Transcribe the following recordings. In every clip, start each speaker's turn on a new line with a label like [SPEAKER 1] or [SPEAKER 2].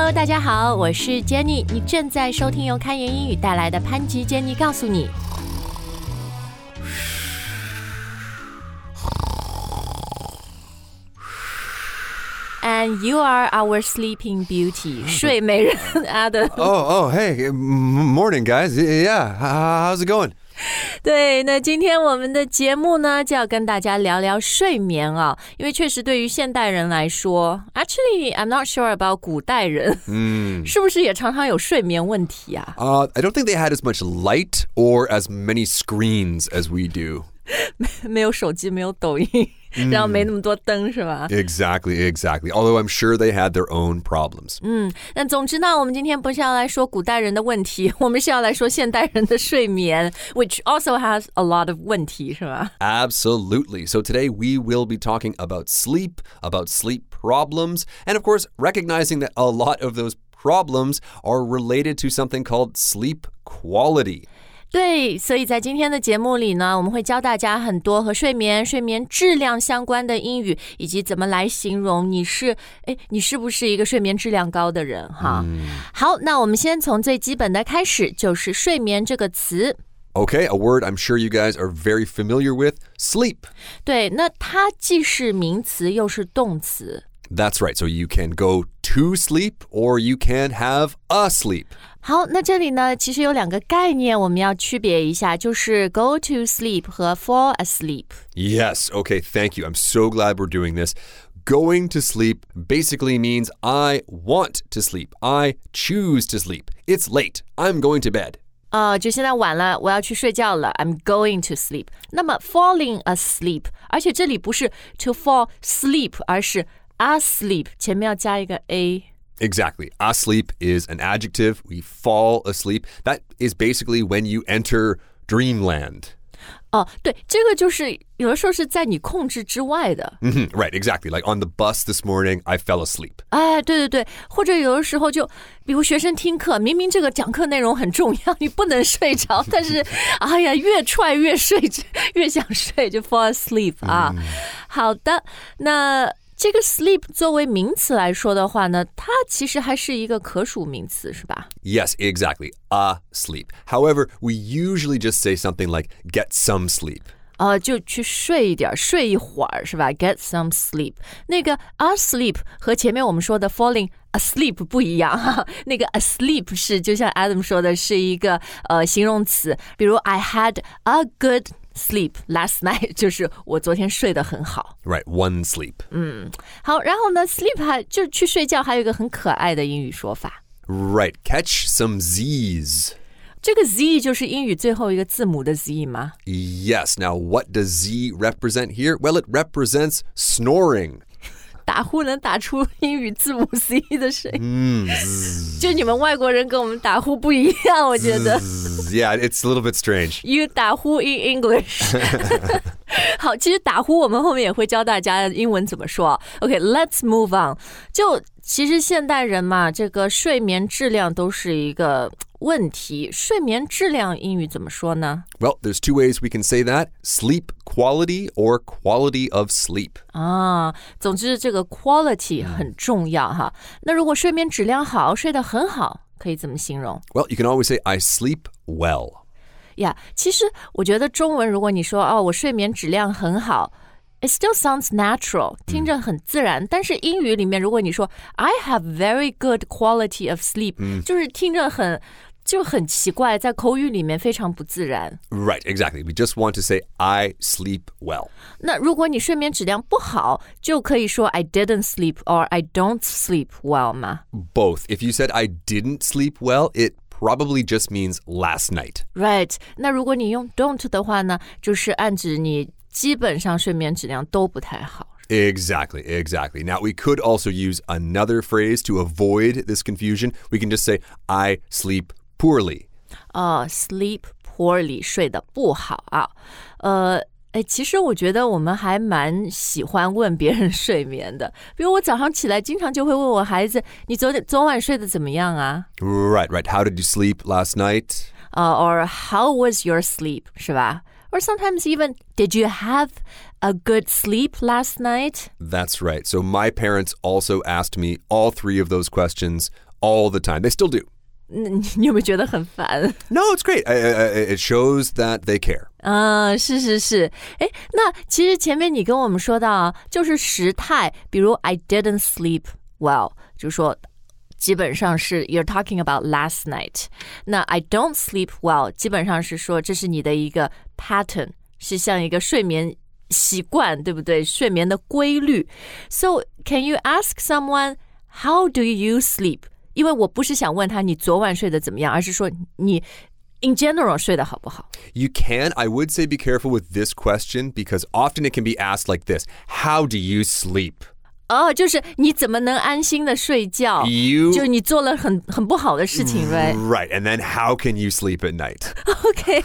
[SPEAKER 1] Hello， 大家好，我是 Jenny， 你正在收听由开言英语带来的潘吉 Jenny 告诉你。And you are our sleeping beauty, 睡美人 Adam.
[SPEAKER 2] Hey, morning, guys. Yeah, how's it going?
[SPEAKER 1] 对，那今天我们的节目呢，就要跟大家聊聊睡眠啊，因为确实对于现代人来说 ，Actually, I'm not sure about 古代人，是不是也常常有睡眠问题啊
[SPEAKER 2] I don't think they had as much light or as many screens as we do.
[SPEAKER 1] 没有手机，没有抖音，然后没那么多灯，是吧？
[SPEAKER 2] Exactly. Although I'm sure they had their own problems.
[SPEAKER 1] 那总之呢，我们今天不是要来说古代人的问题，我们是要来说现代人的睡眠 ，which also has a lot of 问题，是吧？
[SPEAKER 2] Absolutely. So today we will be talking about sleep problems, and of course, recognizing that a lot of those problems are related to something called sleep quality.
[SPEAKER 1] 对，所以在今天的节目里呢，我们会教大家很多和睡眠质量相关的英语，以及怎么来形容你是不是一个睡眠质量高的人哈。好，那我们先从最基本的开始，就是睡眠这个词。
[SPEAKER 2] Okay, a word I'm sure you guys are very familiar with, sleep.
[SPEAKER 1] 对，那它既是名词又是动词。
[SPEAKER 2] That's right. So you can go to sleep or you can have a sleep.
[SPEAKER 1] 好，那这里呢，其实有两个概念我们要区别一下，就是 go to sleep 和 fall asleep.
[SPEAKER 2] Yes. Okay, thank you. I'm so glad we're doing this. Going to sleep basically means I want to sleep. I choose to sleep. It's late. I'm going to bed.
[SPEAKER 1] 就现在晚了，我要去睡觉了 I'm going to sleep. 那么 falling asleep, 而且这里不是 to fall sleep, 而是 asleep, 前面要加一个 a.Exactly.
[SPEAKER 2] Asleep is an adjective. We fall asleep. That is basically when you enter dreamland.
[SPEAKER 1] 对，这个就是有的时候是在你控制之外的。
[SPEAKER 2] Right, exactly. Like on the bus this morning, I fell asleep.
[SPEAKER 1] 对，或者有的时候就，比如学生听课，明明这个讲课内容很重要，你不能睡着，但是，越踹越睡，越想睡，就 fall asleep 啊。好的，那这个 sleep 作为名词来说的话呢，它其实还是一个可数名词，是吧？
[SPEAKER 2] Yes, exactly. Asleep. However, we usually just say something like get some sleep.
[SPEAKER 1] 就去睡一点，睡一会儿，是吧？ Get some sleep. 那个 asleep 和前面我们说的 falling asleep 不一样哈。那个 asleep 是就像 Adam 说的是一个形容词，比如 I had a good sleep last night 就是我昨天睡得很好。
[SPEAKER 2] Right, one sleep.
[SPEAKER 1] 好，然后呢 sleep 就去睡觉还有一个很可爱的英语说法。
[SPEAKER 2] Right, catch some Z's.
[SPEAKER 1] 这个 Z 就是英语最后一个字母的 Z 吗？
[SPEAKER 2] Yes, now what does Z represent here? Well, it represents snoring.
[SPEAKER 1] 打呼能打出英语字母 C 的声音，就你们外国人跟我们打呼不一样，我觉得。
[SPEAKER 2] Yeah, it's a little bit strange.
[SPEAKER 1] You 打呼 in English. 好，其实打呼我们后面也会教大家英文怎么说。Okay, let's move on. 就其实现代人嘛，这个睡眠质量都是一个问题。睡眠质量英语怎么说呢？
[SPEAKER 2] Well, there's two ways we can say that. Sleep quality or quality of sleep.
[SPEAKER 1] 总之这个 quality 很重要哈。那如果睡眠质量好，睡得很好，可以怎么形容？
[SPEAKER 2] Well, you can always say I sleep well.
[SPEAKER 1] 其实我觉得中文如果你说我睡眠质量很好，It still sounds natural, 听着很自然，但是英语里面如果你说 I have very good quality of sleep，就是听着很奇怪，在口语里面非常不自然。
[SPEAKER 2] Right, exactly. We just want to say I sleep well.
[SPEAKER 1] 那如果你睡眠质量不好，就可以说 I didn't sleep or I don't sleep well 吗？
[SPEAKER 2] Both. If you said I didn't sleep well, it probably just means last night.
[SPEAKER 1] Right. 那如果你用 don't 的话呢，就是暗指你基本上睡眠质量都不太好。
[SPEAKER 2] Exactly. Now, we could also use another phrase to avoid this confusion. We can just say, I sleep poorly.
[SPEAKER 1] Sleep poorly, 睡得不好啊。其实我觉得我们还蛮喜欢问别人睡眠的。比如我早上起来经常就会问我孩子，你昨晚睡得怎么样啊？
[SPEAKER 2] Right. How did you sleep last night?
[SPEAKER 1] Or how was your sleep, 是吧？ Or sometimes even, did you have a good sleep last night?
[SPEAKER 2] That's right. So my parents also asked me all three of those questions all the time. They still do.
[SPEAKER 1] 你有没有觉得很烦？
[SPEAKER 2] No, it's great. It shows that they care.
[SPEAKER 1] 是。诶，那其实前面你跟我们说到啊，就是时态，比如 I didn't sleep well， 就说基本上是 you're talking about last night。那 I don't sleep well， 基本上是说这是你的一个 pattern， 是像一个睡眠习惯，对不对？睡眠的规律。So can you ask someone how do you sleep？ 因为我不是想问他你昨晚睡得怎么样，而是说你 in general 睡得好不好？
[SPEAKER 2] You can. I would say be careful with this question because often it can be asked like this. How do you sleep?
[SPEAKER 1] 就是你怎么能安心的睡觉？ 就是你做了很不好的事情 right?
[SPEAKER 2] Right. And then how can you sleep at night?
[SPEAKER 1] Okay.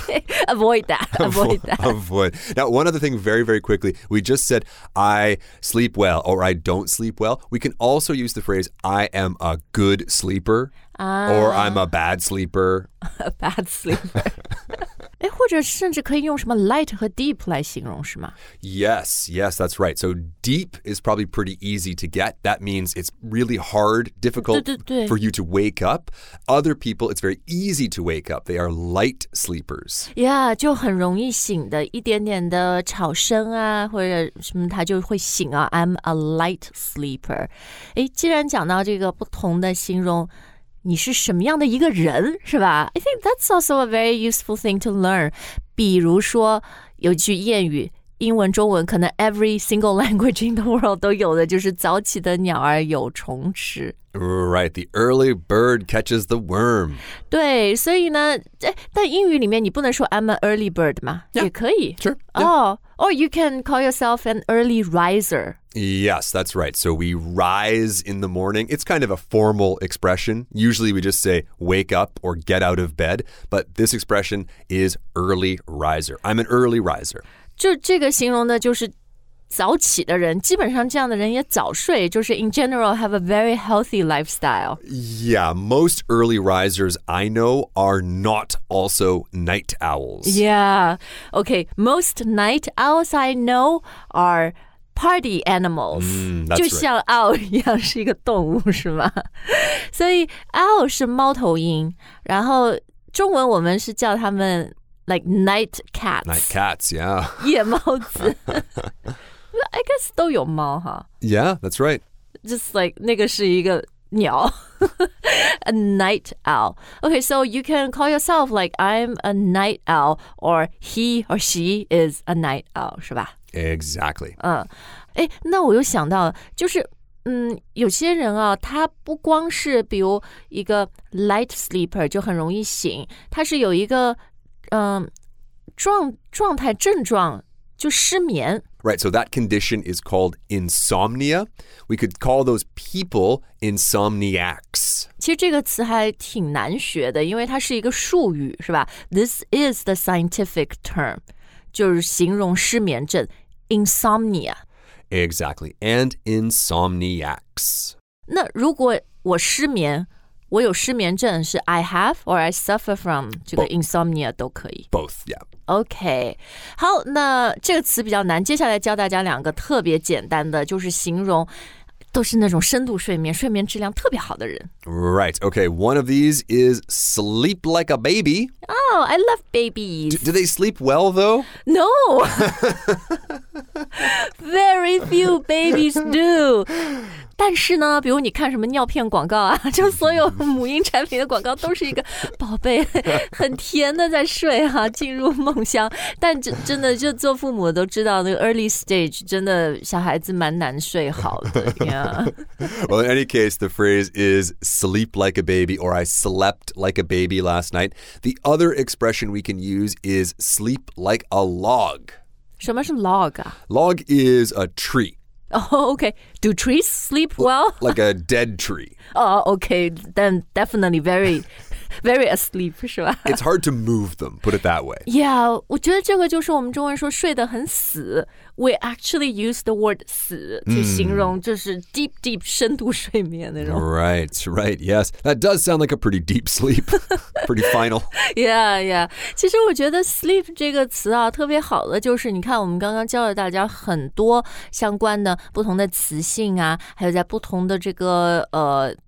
[SPEAKER 1] Avoid that.
[SPEAKER 2] Avoid. Now, one other thing very, very quickly. We just said I sleep well or I don't sleep well. We can also use the phrase I am a good sleeper or I'm a bad sleeper.
[SPEAKER 1] A bad sleeper. 诶，或者甚至可以用什么 light 和 deep 来形容是吗？
[SPEAKER 2] Yes, that's right. So deep is probably pretty easy to get. That means it's really hard, difficult
[SPEAKER 1] 对
[SPEAKER 2] for you to wake up. Other people, it's very easy to wake up. They are light sleepers.
[SPEAKER 1] Yeah, 就很容易醒的，一点点的吵声啊，或者什么他就会醒啊。I'm a light sleeper. 诶，既然讲到这个不同的形容，你是什么样的一个人，是吧？ I think that's also a very useful thing to learn. 比如说有句谚语，英文、中文可能 every single language in the world 都有的，就是早起的鸟儿有虫吃。
[SPEAKER 2] Right, the early bird catches the worm.
[SPEAKER 1] 对，所以呢，但英语里面你不能说 I'm an early bird 嘛， 也可以。
[SPEAKER 2] Sure.
[SPEAKER 1] Or you can call yourself an early riser.
[SPEAKER 2] Yes, that's right. So we rise in the morning. It's kind of a formal expression. Usually we just say wake up or get out of bed. But this expression is early riser. I'm an early riser.
[SPEAKER 1] 就这个形容的就是早起的人，基本上这样的人也早睡，就是 in general have a very healthy lifestyle.
[SPEAKER 2] Yeah, most early risers I know are not also night owls.
[SPEAKER 1] Yeah. Okay, most night owls I know are party animals.
[SPEAKER 2] That's
[SPEAKER 1] 就像 owl 一样是一个动物是吗？所以 owl 是猫头鹰，然后中文我们是叫它们 like night cats.
[SPEAKER 2] Night cats, yeah.
[SPEAKER 1] 夜猫子。I guess 都有猫哈。
[SPEAKER 2] Yeah, that's right.
[SPEAKER 1] Just like 那个是一个鸟。A night owl. Okay, so you can call yourself like I'm a night owl or he or she is a night owl, 是吧？
[SPEAKER 2] Exactly.
[SPEAKER 1] 诶，那我又想到就是有些人啊，他不光是比如一个 light sleeper 就很容易醒，他是有一个状态症状就失眠。
[SPEAKER 2] Right, so that condition is called insomnia. We could call those people insomniacs.
[SPEAKER 1] 其实这个词还挺难学的，因为它是一个术语，是吧？ This is the scientific term， 就是形容失眠症 insomnia.
[SPEAKER 2] Exactly, and insomniacs.
[SPEAKER 1] 那如果我失眠，我有失眠症是 I have or I suffer from 这个 insomnia 都可以。
[SPEAKER 2] Both, yeah.
[SPEAKER 1] OK， 好，那这个词比较难，接下来教大家两个特别简单的，就是形容都是那种深度睡眠、睡眠质量特别好的人。
[SPEAKER 2] Right, okay, one of these is sleep like a baby.
[SPEAKER 1] Oh, I love babies.
[SPEAKER 2] Do they sleep well, though?
[SPEAKER 1] No. Very few babies do. 但是呢，比如你看什么尿片广告啊，就所有母婴产品的广告都是一个宝贝很甜的在睡哈，进入梦乡。但真的就做父母都知道，那个 early stage 真的小孩子蛮难睡好的。Yeah.
[SPEAKER 2] Well, in any case, the phrase is sleep like a baby or I slept like a baby last night. The other expression we can use is sleep like a log.
[SPEAKER 1] 什么是 log 啊？
[SPEAKER 2] Log is a tree.
[SPEAKER 1] Oh, okay. Do trees sleep well?
[SPEAKER 2] Like a dead tree.
[SPEAKER 1] Oh, okay. Then definitely very asleep, 是吧？
[SPEAKER 2] It's hard to move them, put it that way.
[SPEAKER 1] Yeah, 我觉得这个就是我们中文说睡得很死。We actually use the word 死去形容就是 deep 深度睡眠那种。
[SPEAKER 2] Right, yes. That does sound like a pretty deep sleep. Pretty final.
[SPEAKER 1] Yeah. 其实我觉得 sleep 这个词啊，特别好的就是你看我们刚刚教了大家很多相关的不同的词性啊，还有在不同的这个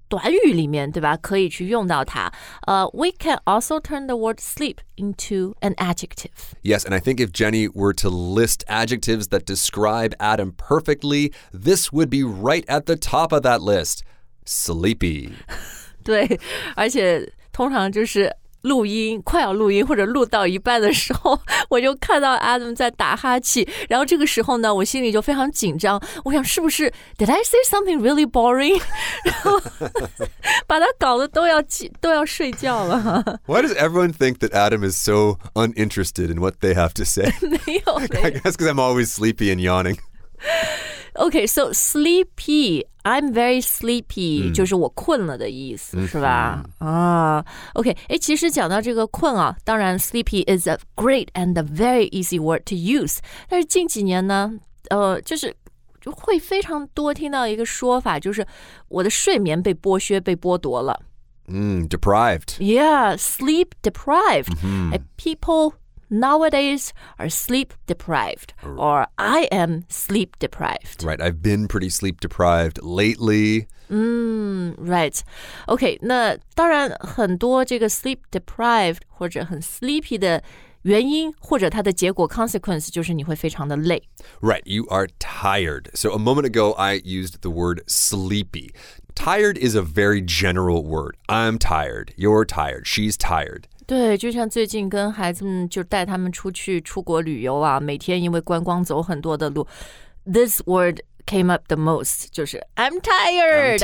[SPEAKER 1] 短语里面，对吧？可以去用到它。We can also turn the word sleep into an adjective.
[SPEAKER 2] Yes, and I think if Jenny were to list adjectives that describe Adam perfectly, this would be right at the top of that list. Sleepy.
[SPEAKER 1] 对，而且通常就是录音快要录音或者录到一半的时候，我就看到 Adam 在打哈欠，然后这个时候呢，我心里就非常紧张，我想是不是 Did I say something really boring？ 然后把他搞得都要睡觉了。
[SPEAKER 2] Why does everyone think that Adam is so uninterested in what they have to say?
[SPEAKER 1] 没有
[SPEAKER 2] I guess because I'm always sleepy and yawning.
[SPEAKER 1] Okay, so sleepy, I'm very sleepy, 就是我困了的意思，是吧？OK, 其实讲到这个困啊，当然 sleepy is a great and a very easy word to use. 但是近几年呢，就会非常多听到一个说法，就是我的睡眠被剥削、被剥夺了。
[SPEAKER 2] Deprived.
[SPEAKER 1] Yeah, sleep deprived. People nowadays are sleep deprived, or I am sleep deprived.
[SPEAKER 2] Right, I've been pretty sleep deprived lately.
[SPEAKER 1] Right. OK, 那当然很多这个 sleep deprived 或者很 sleepy 的原因或者它的结果 consequence 就是你会非常的累。
[SPEAKER 2] Right, you are tired. So a moment ago, I used the word sleepy. Tired is a very general word. I'm tired. You're tired. She's tired.
[SPEAKER 1] 对，就像最近跟孩子们就带他们出国旅游啊，每天因为观光走很多的路 ，this word came up the most 就是 I'm tired.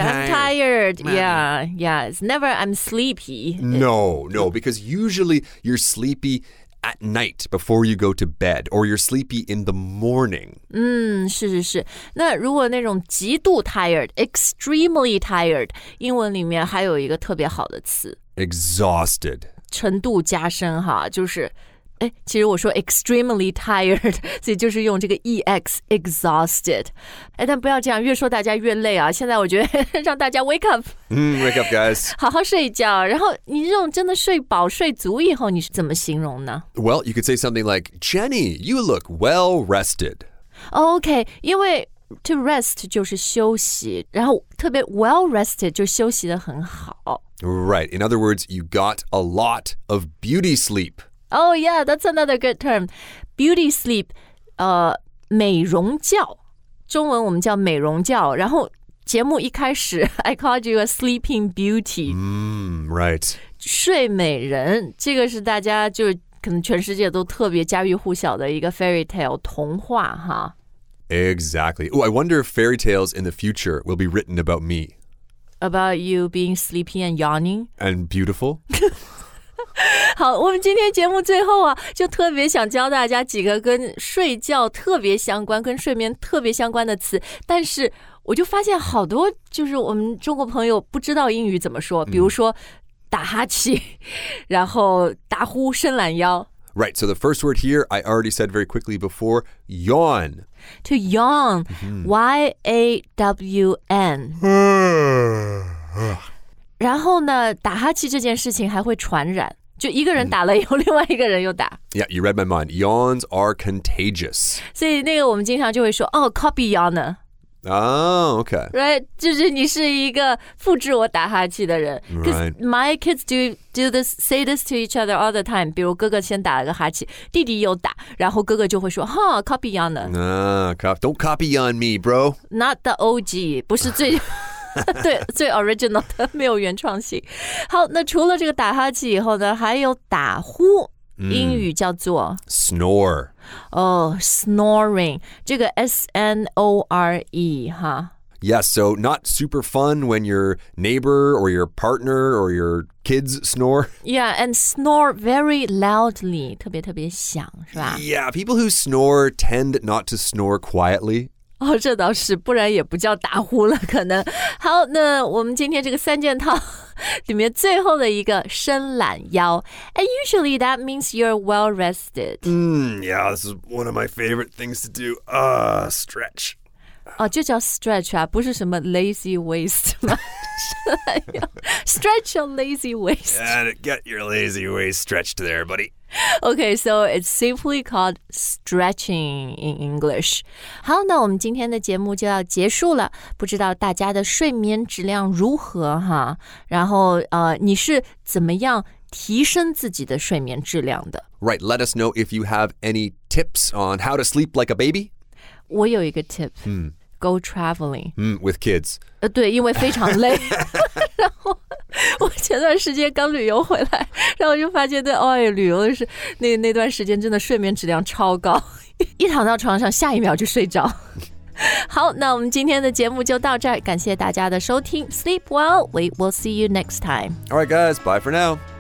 [SPEAKER 1] Yeah, it's never I'm sleepy.
[SPEAKER 2] No, because usually you're sleepy at night before you go to bed, or you're sleepy in the morning.
[SPEAKER 1] 是。那如果那种极度 tired, extremely tired, 英文里面还有一个特别好的词
[SPEAKER 2] exhausted.
[SPEAKER 1] 程度加深哈，就是其实我说 extremely tired， 所以就是用这个 ex exhausted。但不要这样，越说大家越累啊。现在我觉得让大家 wake up，
[SPEAKER 2] wake up, guys.
[SPEAKER 1] 好好睡一觉。然后你这种真的睡饱睡足以后，你是怎么形容呢？
[SPEAKER 2] Well, you could say something like, Jenny, you look well rested.
[SPEAKER 1] OK， 因为to rest 就是休息，然后特别 well rested 就休息得很好。
[SPEAKER 2] Right. In other words, you got a lot of beauty sleep.
[SPEAKER 1] Oh yeah, that's another good term. Beauty sleep, 美容觉，中文我们叫美容觉。然后节目一开始 I called you a sleeping beauty.
[SPEAKER 2] Right.
[SPEAKER 1] 睡美人，这个是大家就可能全世界都特别家喻户晓的一个 fairy tale 童话哈。
[SPEAKER 2] Exactly. Oh, I wonder if fairy tales in the future will be written about me.
[SPEAKER 1] About you being sleepy and yawning?
[SPEAKER 2] And beautiful?
[SPEAKER 1] 好，我们今天节目最后啊，就特别想教大家几个跟睡觉特别相关、跟睡眠特别相关的词。但是我就发现好多就是我们中国朋友不知道英语怎么说，比如说打哈欠，然后打呼、伸懒腰。
[SPEAKER 2] Right, so the first word here, I already said very quickly before, yawn.
[SPEAKER 1] To yawn, Y-A-W-N. 然后呢，打哈欠这件事情还会传染，就一个人打了以后，另外一个人又打。
[SPEAKER 2] Yeah, you read my mind. Yawns are contagious.
[SPEAKER 1] 所以那个我们经常就会说，copy yawner.
[SPEAKER 2] Oh, okay.
[SPEAKER 1] Right, 就是你是一个复制我打哈欠的人。Because my kids do this, say this to each other all the time. 比如哥哥先打了个哈欠，弟弟又打，然后哥哥就会说，copy yawner.
[SPEAKER 2] Don't copy on me, bro.
[SPEAKER 1] Not the OG, 不是最对最 original 的，没有原创性。好，那除了这个打哈欠以后呢，还有打呼。英语叫做
[SPEAKER 2] snore.
[SPEAKER 1] Snoring. 这个 S-N-O-R-E 哈。
[SPEAKER 2] Yes, so not super fun when your neighbor or your partner or your kids snore.
[SPEAKER 1] Yeah, and snore very loudly. 特别特别响，是吧？
[SPEAKER 2] Yeah, people who snore tend not to snore quietly.
[SPEAKER 1] 这倒是，不然也不叫打呼了，可能。好，那我们今天这个三件套里面最后的一个伸懒腰 ，and usually that means you're well rested.
[SPEAKER 2] Yeah, this is one of my favorite things to do. Stretch.
[SPEAKER 1] 就叫 stretch 啊，不是什么 lazy waist 吗？Stretch your lazy waist.
[SPEAKER 2] Get your lazy waist stretched there, buddy.
[SPEAKER 1] Okay, so it's simply called stretching in English. 好，那我们今天的节目就要结束了。不知道大家的睡眠质量如何哈？然后你是怎么样提升自己的睡眠质量的？
[SPEAKER 2] Right, let us know if you have any tips on how to sleep like a baby.
[SPEAKER 1] 我有一个 tip.Go traveling.
[SPEAKER 2] With kids.
[SPEAKER 1] 对，因为非常累。然后我前段时间刚旅游回来，然后就发现旅游的是那段时间真的睡眠质量超高，一躺到床上下一秒就睡着。好，那我们今天的节目就到这儿，感谢大家的收听。Sleep well, we will see you next time.
[SPEAKER 2] All right, guys, bye for now.